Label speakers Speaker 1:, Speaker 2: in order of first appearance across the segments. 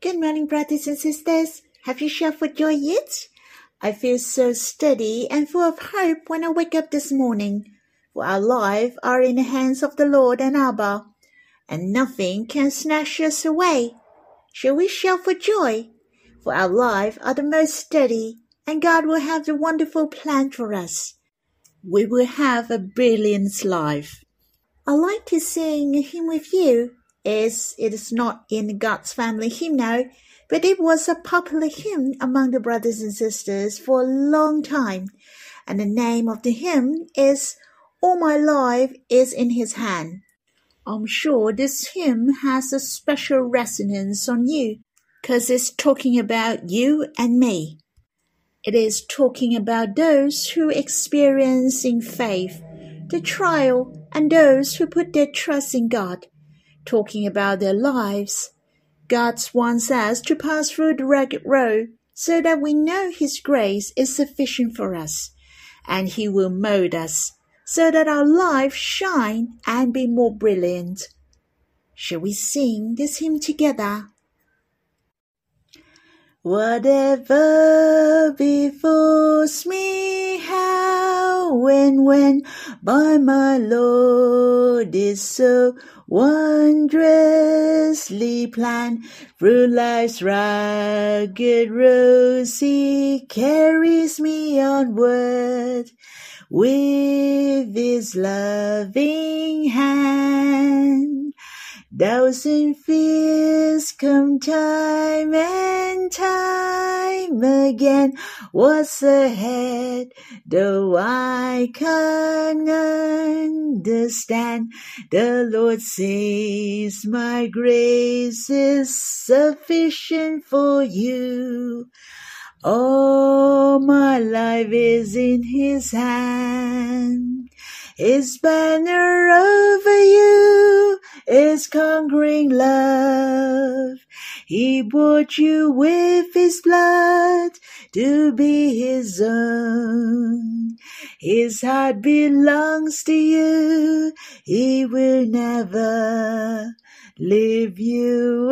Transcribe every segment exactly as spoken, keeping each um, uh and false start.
Speaker 1: Good morning, brothers and sisters. Have you shouted for joy yet? I feel so steady and full of hope when I wake up this morning, for our lives are in the hands of the Lord and Abba, and nothing can snatch us away. Shall we shout for joy? For our lives are the most steady, and God will have the wonderful plan for us. We will have a brilliant life. I like to sing a hymn with you, as it is not in God's family hymnal, but it was a popular hymn among the brothers and sisters for a long time, and the name of the hymn is All My Life is in His Hand. I'm sure this hymn has a special resonance on you, because it's talking about you and me. It is talking about those who experience in faith the trial and those who put their trust in God, talking about their lives. God wants us to pass through the rugged road so that we know His grace is sufficient for us, and He will mold us so that our lives shine and be more brilliant. Shall we sing this hymn together? Whatever befalls me, how and when, by my Lord is so wondrously planned. Through life's rugged road, He carries me onward with His loving hand. Thousand fears come time and time again. What's ahead, though I can't understand? The Lord says my grace is sufficient for you. All my life is in His hand. His banner over you is conquering love. He bought you with His blood to be His own. His heart belongs to you. He will never leave you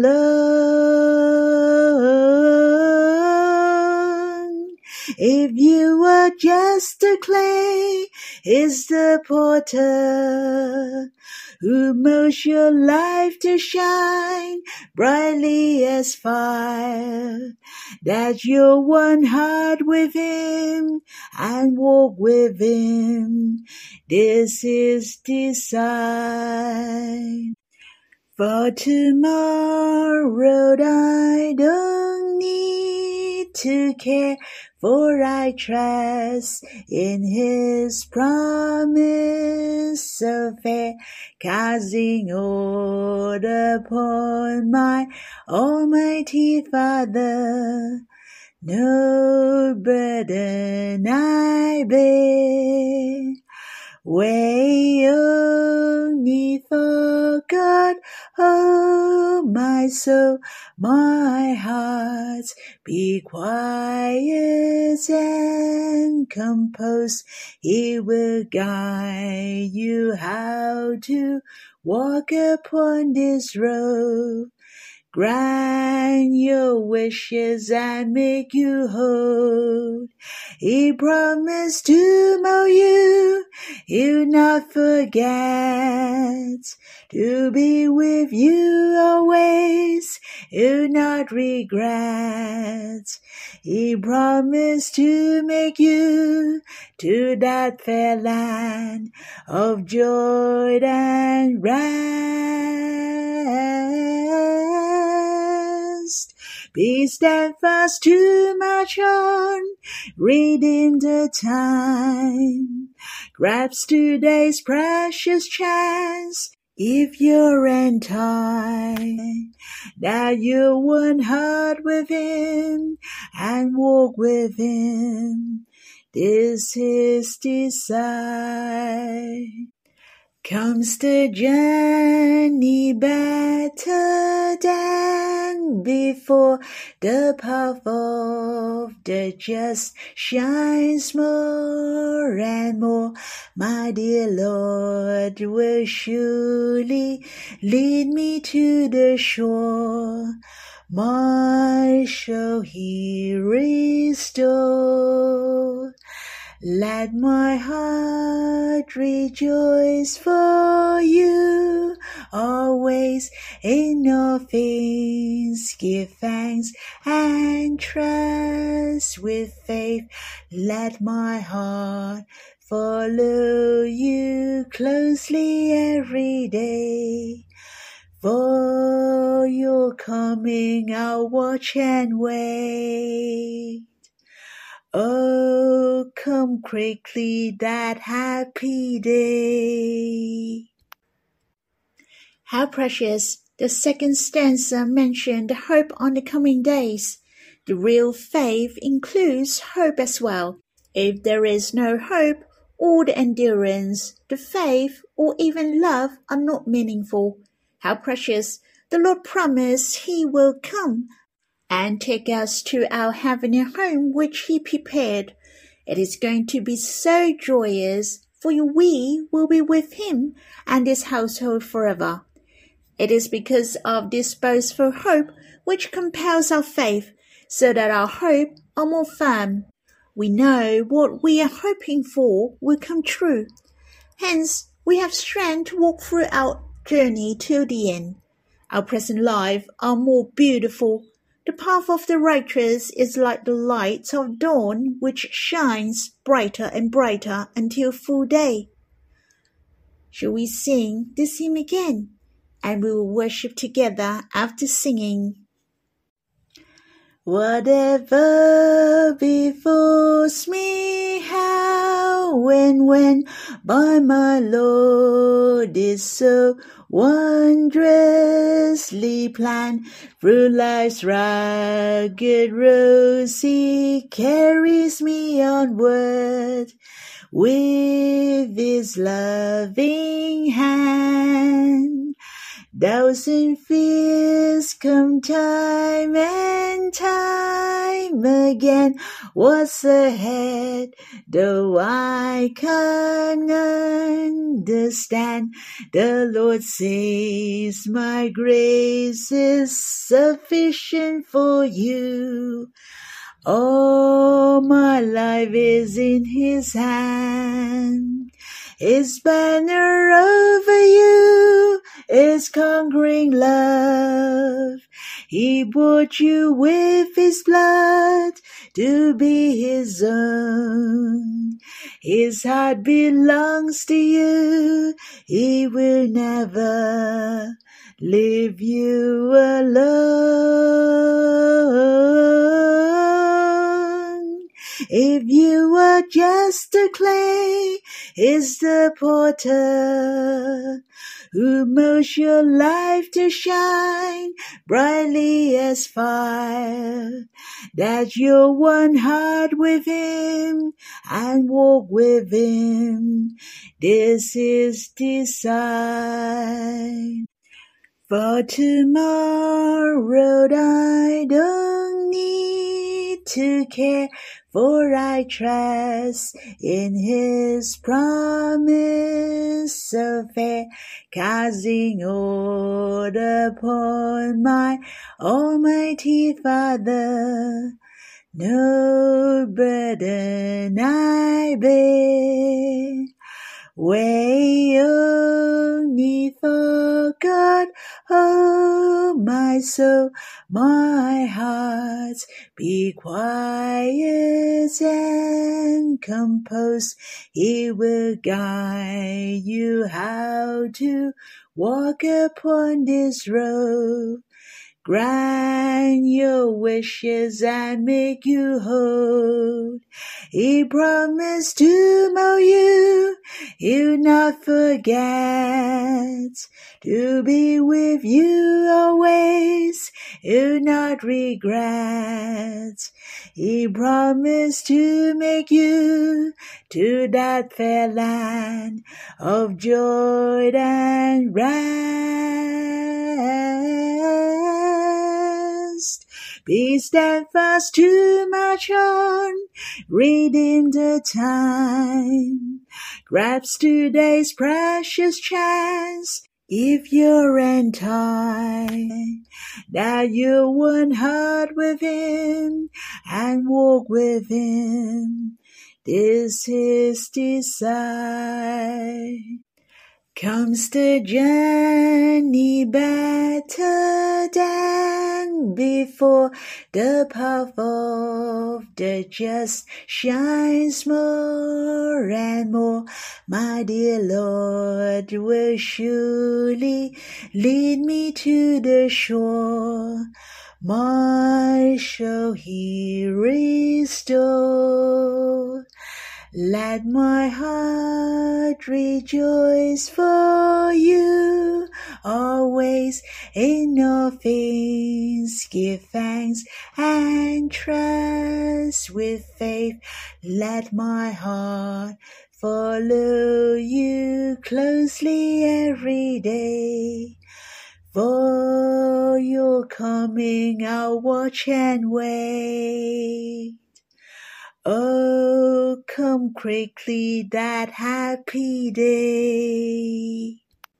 Speaker 1: alone. If you were just a clay, He's the potter who molds your life to shine brightly as fire, that you'll one heart with Him and walk with Him. This is design. For tomorrow I don't need to care, for I trust in His promise so fair, casting all upon my Almighty Father. No burden I bear, weigh only for God. Oh, my soul, my heart, be quiet and composed. He will guide you how to walk upon this road. Grant your wishes and make you whole. He promised to mold you, He'll not forget. To be with you always, He'll not regret. He promised to make you to that fair land of joy and rest. Be steadfast to march on, redeem the time. Grasp today's precious chance, if you're in time, that you're one heart with Him and walk with Him. This is design. Comes the journey better than before. The path of the just shines more and more. My dear Lord will surely lead me to the shore. my soul he restore. Let my heart rejoice for you, always in all things give thanks and trust with faith. Let my heart follow you closely every day. For your coming I'll watch and wait. Oh, come quickly that happy day. How precious! The second stanza mentioned the hope on the coming days. The real faith includes hope as well. If there is no hope, all the endurance, the faith, or even love are not meaningful. How precious! The Lord promised He will come and take us to our heavenly home which He prepared. It is going to be so joyous, for we will be with Him and His household forever. It is because of this boastful hope which compels our faith, so that our hope are more firm. We know what we are hoping for will come true. Hence, we have strength to walk through our journey till the end. Our present life are more beautiful. The path of the righteous is like the light of dawn, which shines brighter and brighter until full day. Shall we sing this hymn again? And we will worship together after singing. Whatever befalls me, how and when, by my Lord is so wondrously planned. Through life's rugged road He carries me onward with His loving hand. Thousand fears come time and time again. What's ahead, though I can't understand? The Lord says, my grace is sufficient for you. All my life is in His hand. His banner over you is conquering love. He bought you with His blood to be His own. His heart belongs to you. He will never leave you alone. If you were just a clay, He's the potter who molds your life to shine brightly as fire, that you're one heart with Him and walk with Him. This is design. For tomorrow I don't need to care, for I trust in His promise so fair, casting all upon my Almighty Father. No burden I bear, weigh only for God. Oh, my soul, my heart, be quiet and composed. He will guide you how to walk upon this road. Grant your wishes and make you whole. He promised to mold you, He'll not forget. To be with you always, He'll not regret. He promised to make you to that fair land of joy and rest. Be steadfast to march on, redeem the time. Grasp today's precious chance, Give your end time, that you one heart with him and walk with him. This is desire. Comes the journey better than before. The path of the just shines more and more. My dear Lord will surely lead me to the shore. My soul he restore. Let my heart rejoice for you, always in all things give thanks and trust with faith. Let my heart follow you closely every day. For your coming I'll watch and wait. Oh, come quickly that happy day.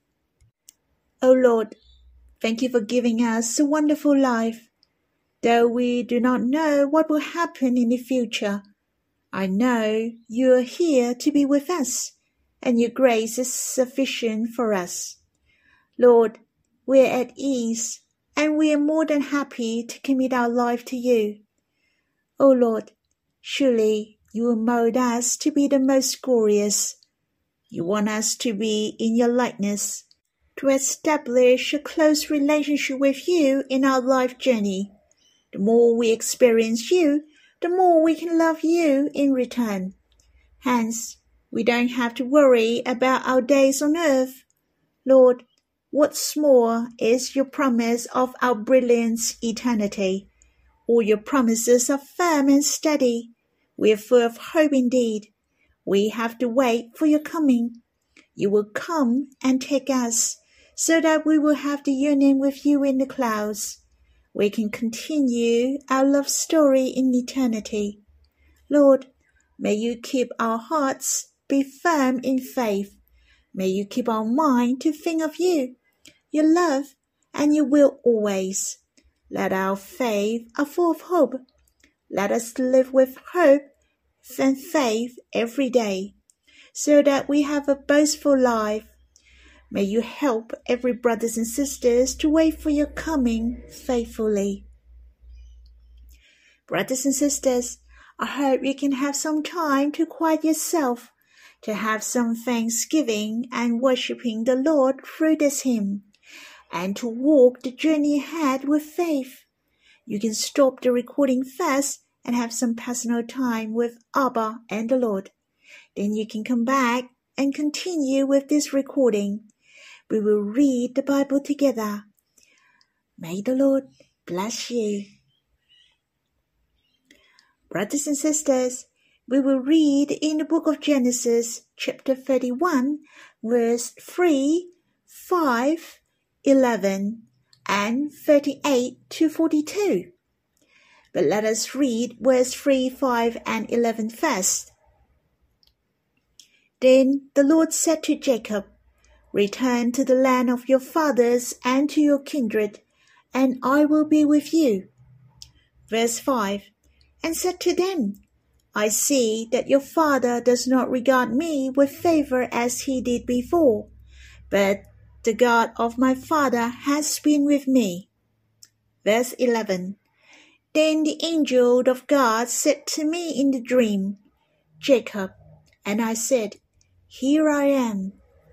Speaker 1: Oh Lord, thank you for giving us a wonderful life. Though we do not know what will happen in the future, I know you are here to be with us, and your grace is sufficient for us. Lord, we are at ease, and we are more than happy to commit our life to you. Oh Lord, surely you will mold us to be the most glorious. You want us to be in your likeness, to establish a close relationship with you in our life journey. The more we experience you, the more we can love you in return. Hence, we don't have to worry about our days on earth. Lord, what's more is your promise of our brilliant eternity. All your promises are firm and steady. We are full of hope indeed. We have to wait for your coming. You will come and take us, so that we will have the union with you in the clouds. We can continue our love story in eternity. Lord, may you keep our hearts be firm in faith. May you keep our mind to think of you, your love, and your will always. Let our faith are full of hope. Let us live with hope and faith every day, so that we have a boastful life. May you help every brothers and sisters to wait for your coming faithfully. Brothers and sisters, I hope you can have some time to quiet yourself, to have some thanksgiving and worshipping the Lord through this hymn, and to walk the journey ahead with faith. You can stop the recording first and have some personal time with Abba and the Lord. Then you can come back and continue with this recording. We will read the Bible together. May the Lord bless you. Brothers and sisters, we will read in the book of Genesis, chapter thirty-one, verse three, five, eleven, and thirty-eight to forty-two. But let us read verse three, five, and eleven first. Then the Lord said to Jacob, Return to the land of your fathers and to your kindred, and I will be with you. Verse five, and said to them, I see that your father does not regard me with favor as he did before, but the God of my father has been with me. Verse eleven, Then the angel of God said to me in the dream, Jacob, and I said, Here I am.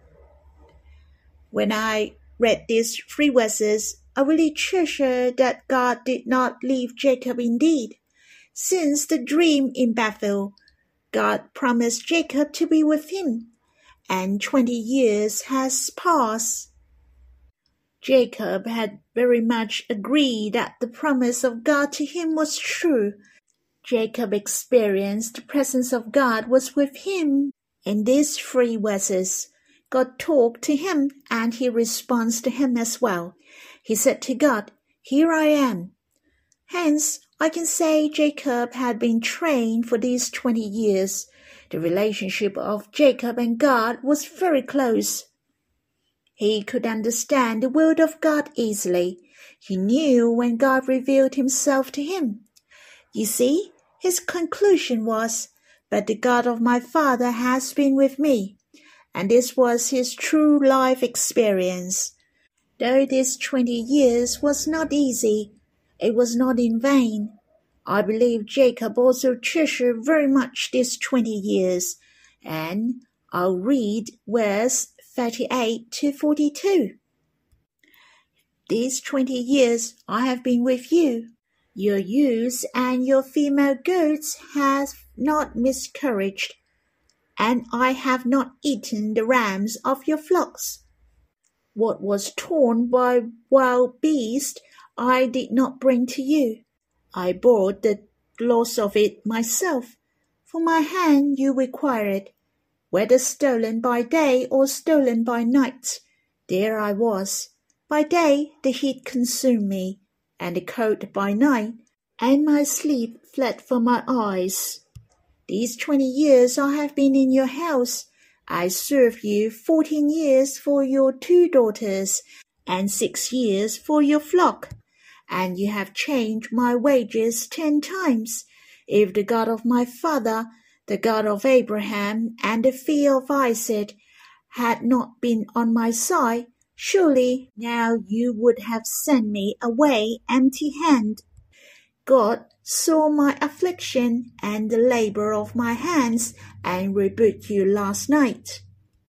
Speaker 1: When I read these three verses, I really treasure that God did not leave Jacob indeed. Since the dream in Bethel, God promised Jacob to be with him, and twenty years has passed. Jacob had very much agreed that the promise of God to him was true. Jacob experienced the presence of God was with him. In these three verses, God talked to him and he responds to him as well. He said to God, Here I am. Hence, I can say Jacob had been trained for these twenty years. The relationship of Jacob and God was very close. He could understand the word of God easily. He knew when God revealed himself to him. You see, his conclusion was, "But the God of my father has been with me." And this was his true life experience. Though this twenty years was not easy, it was not in vain. I believe Jacob also treasured very much these twenty years, and I'll read verse thirty-eight to forty-two. These twenty years I have been with you. Your ewes and your female goats have not miscarried, and I have not eaten the rams of your flocks. What was torn by wild beasts I did not bring to you. I bore the loss of it myself. From my hand you require it. Whether stolen by day or stolen by night, there I was. By day the heat consumed me, and the cold by night, and my sleep fled from my eyes. These twenty years I have been in your house. I served you fourteen years for your two daughters, and six years for your flock, and you have changed my wages ten times. If the God of my father, the God of Abraham, and the fear of Isaac had not been on my side, surely now you would have sent me away empty-handed. God saw my affliction and the labor of my hands, and rebuked you last night.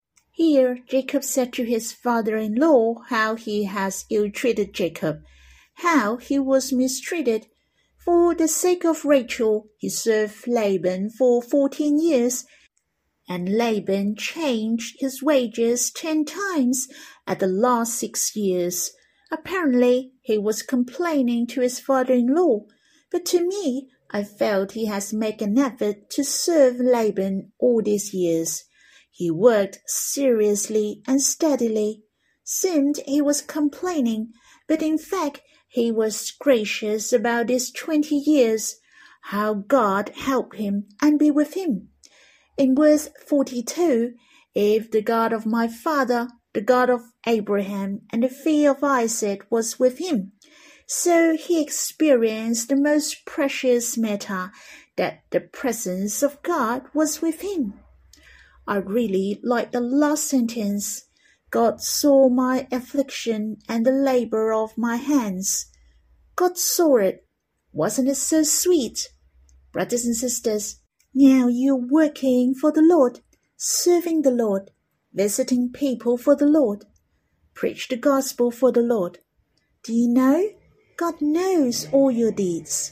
Speaker 1: Here Jacob said to his father-in-law how he has ill-treated Jacob, how he was mistreated. For the sake of Rachel he served Laban for fourteen years, and Laban changed his wages ten times at the last six years. Apparently he was complaining to his father-in-law, but to me I felt he has made an effort to serve Laban all these years. He worked seriously and steadily. Seemed he was complaining, but in fact he was gracious about these twenty years, how God helped him and be with him. In verse forty-two, if the God of my father, the God of Abraham, and the fear of Isaac was with him, so he experienced the most precious matter, that the presence of God was with him. I really like the last sentence. God saw my affliction and the labor of my hands. God saw it. Wasn't it so sweet? Brothers and sisters, now you're working for the Lord, serving the Lord, visiting people for the Lord, preach the gospel for the Lord. Do you know? God knows all your deeds.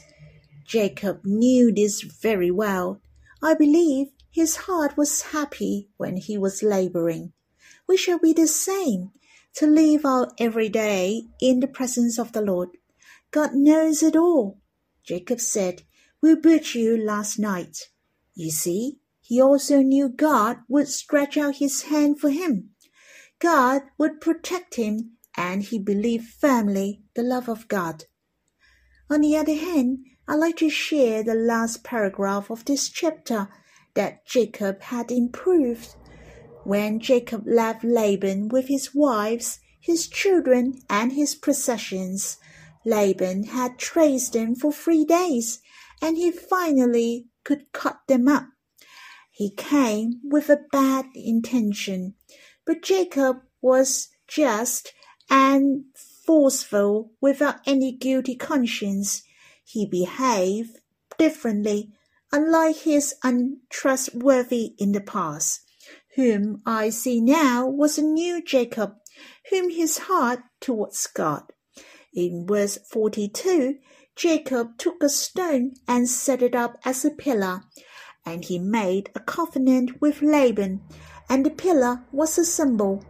Speaker 1: Jacob knew this very well. I believe his heart was happy when he was laboring. We shall be the same, to live our every day in the presence of the Lord. God knows it all. Jacob said, "We butchered you last night." You see, he also knew God would stretch out his hand for him. God would protect him, and he believed firmly the love of God. On the other hand, I'd like to share the last paragraph of this chapter, that Jacob had improved. When Jacob left Laban with his wives, his children, and his possessions, Laban had traced them for three days, and he finally could cut them up. He came with a bad intention, but Jacob was just and forceful without any guilty conscience. He behaved differently, unlike his untrustworthy in the past. Whom I see now was a new Jacob, whom his heart towards God. In verse forty-two, Jacob took a stone and set it up as a pillar, and he made a covenant with Laban, and the pillar was a symbol.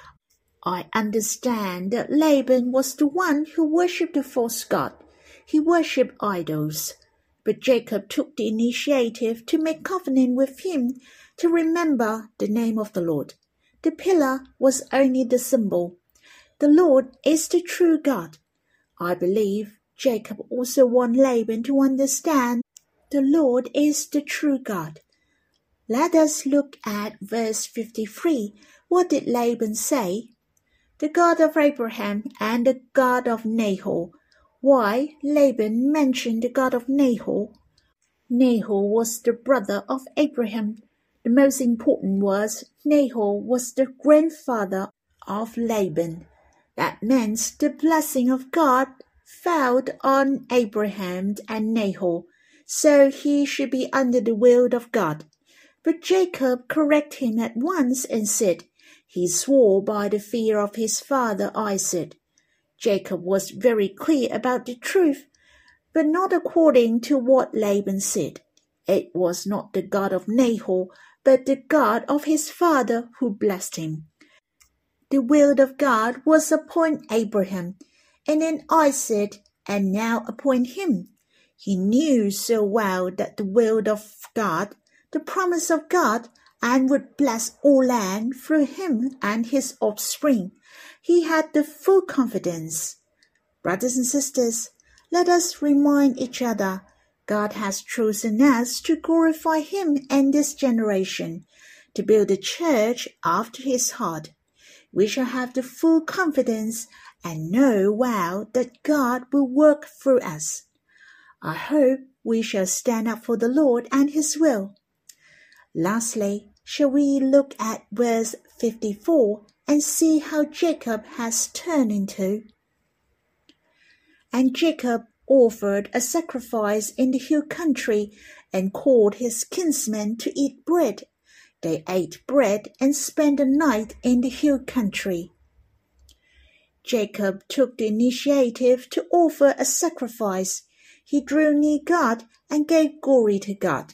Speaker 1: I understand that Laban was the one who worshipped the false god. He worshipped idols. But Jacob took the initiative to make covenant with him to remember the name of the Lord. The pillar was only the symbol. The Lord is the true God. I believe Jacob also want Laban to understand the Lord is the true God. Let us look at verse fifty-three. What did Laban say? the God of Abraham and the God of Nahor. Why Laban mentioned the God of Nahor? Nahor was the brother of Abraham. The most important was Nahor was the grandfather of Laban. That meant the blessing of God fell on Abraham and Nahor, so he should be under the will of God. But Jacob corrected him at once and said, he swore by the fear of his father Isaac. Jacob was very clear about the truth, but not according to what Laban said. It was not the God of Nahor, but the God of his father who blessed him. The will of God was appoint Abraham, and then Isaac, and now appoint him. He knew so well that the will of God, the promise of God, and would bless all land through him and his offspring. He had the full confidence. Brothers and sisters, let us remind each other, God has chosen us to glorify him in this generation, to build a church after his heart. We shall have the full confidence and know well that God will work through us. I hope we shall stand up for the Lord and his will. Lastly, shall we look at verse fifty-four and see how Jacob has turned into? And Jacob offered a sacrifice in the hill country and called his kinsmen to eat bread. They ate bread and spent the night in the hill country. Jacob took the initiative to offer a sacrifice. He drew near God and gave glory to God.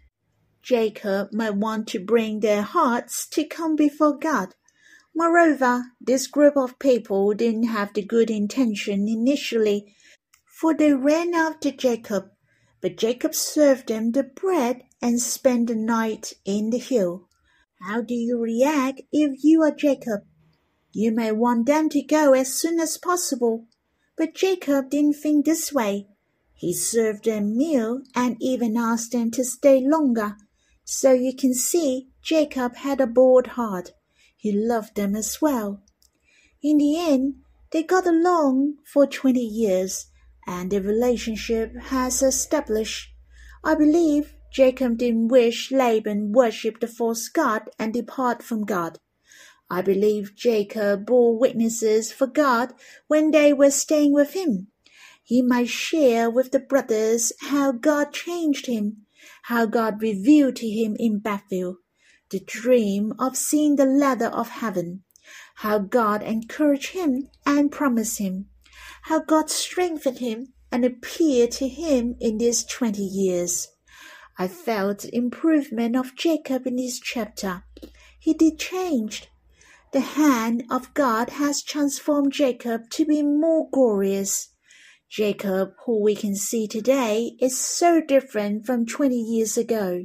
Speaker 1: Jacob might want to bring their hearts to come before God. Moreover, this group of people didn't have the good intention initially, for they ran after Jacob. But Jacob served them the bread and spent the night in the hill. How do you react if you are Jacob? You may want them to go as soon as possible. But Jacob didn't think this way. He served them meal and even asked them to stay longer. So you can see Jacob had a bold heart. He loved them as well. In the end, they got along for twenty years, and the relationship has established. I believe Jacob didn't wish Laban worship the false god and depart from God. I believe Jacob bore witnesses for God when they were staying with him. He might share with the brothers how God changed him, how God revealed to him in Bethel the dream of seeing the ladder of heaven, how God encouraged him and promised him, how God strengthened him and appeared to him in these twenty years. I felt the improvement of Jacob in this chapter. He did change. The hand of God has transformed Jacob to be more glorious. Jacob, who we can see today, is so different from twenty years ago.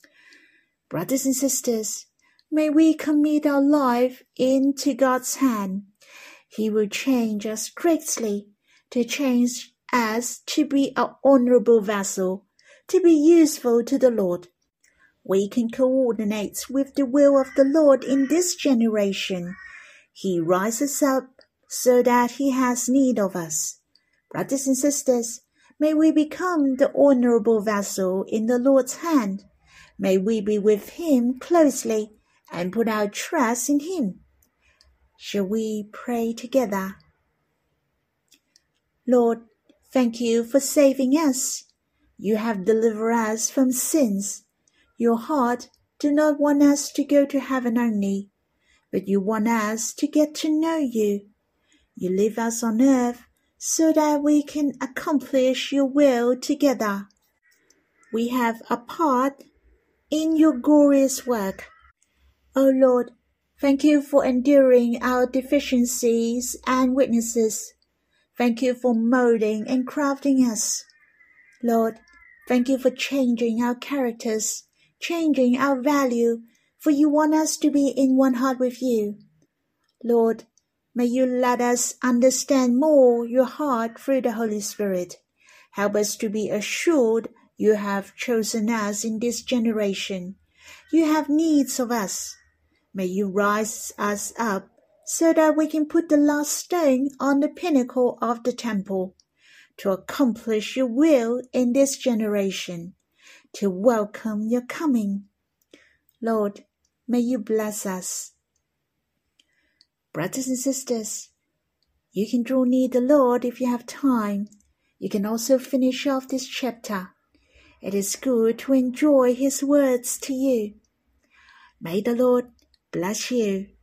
Speaker 1: Brothers and sisters, may we commit our life into God's hand. He will change us greatly, to change us to be an honorable vessel, to be useful to the Lord. We can coordinate with the will of the Lord in this generation. He rises up so that he has need of us. Brothers and sisters, may we become the honorable vessel in the Lord's hand. May we be with him closely and put our trust in him. Shall we pray together? Lord, thank you for saving us. You have delivered us from sins. Your heart do not want us to go to heaven only, but you want us to get to know you. You leave us on earth so that we can accomplish your will together. We have a part in your glorious work. O Lord, thank you for enduring our deficiencies and weaknesses. Thank you for molding and crafting us. Lord, thank you for changing our characters, changing our value, for you want us to be in one heart with you. Lord, may you let us understand more your heart through the Holy Spirit. Help us to be assured you have chosen us in this generation. You have needs of us. May you rise us up so that we can put the last stone on the pinnacle of the temple, to accomplish your will in this generation, to welcome your coming. Lord, may you bless us. Brothers and sisters, you can draw near the Lord if you have time. You can also finish off this chapter. It is good to enjoy His words to you. May the Lord bless you.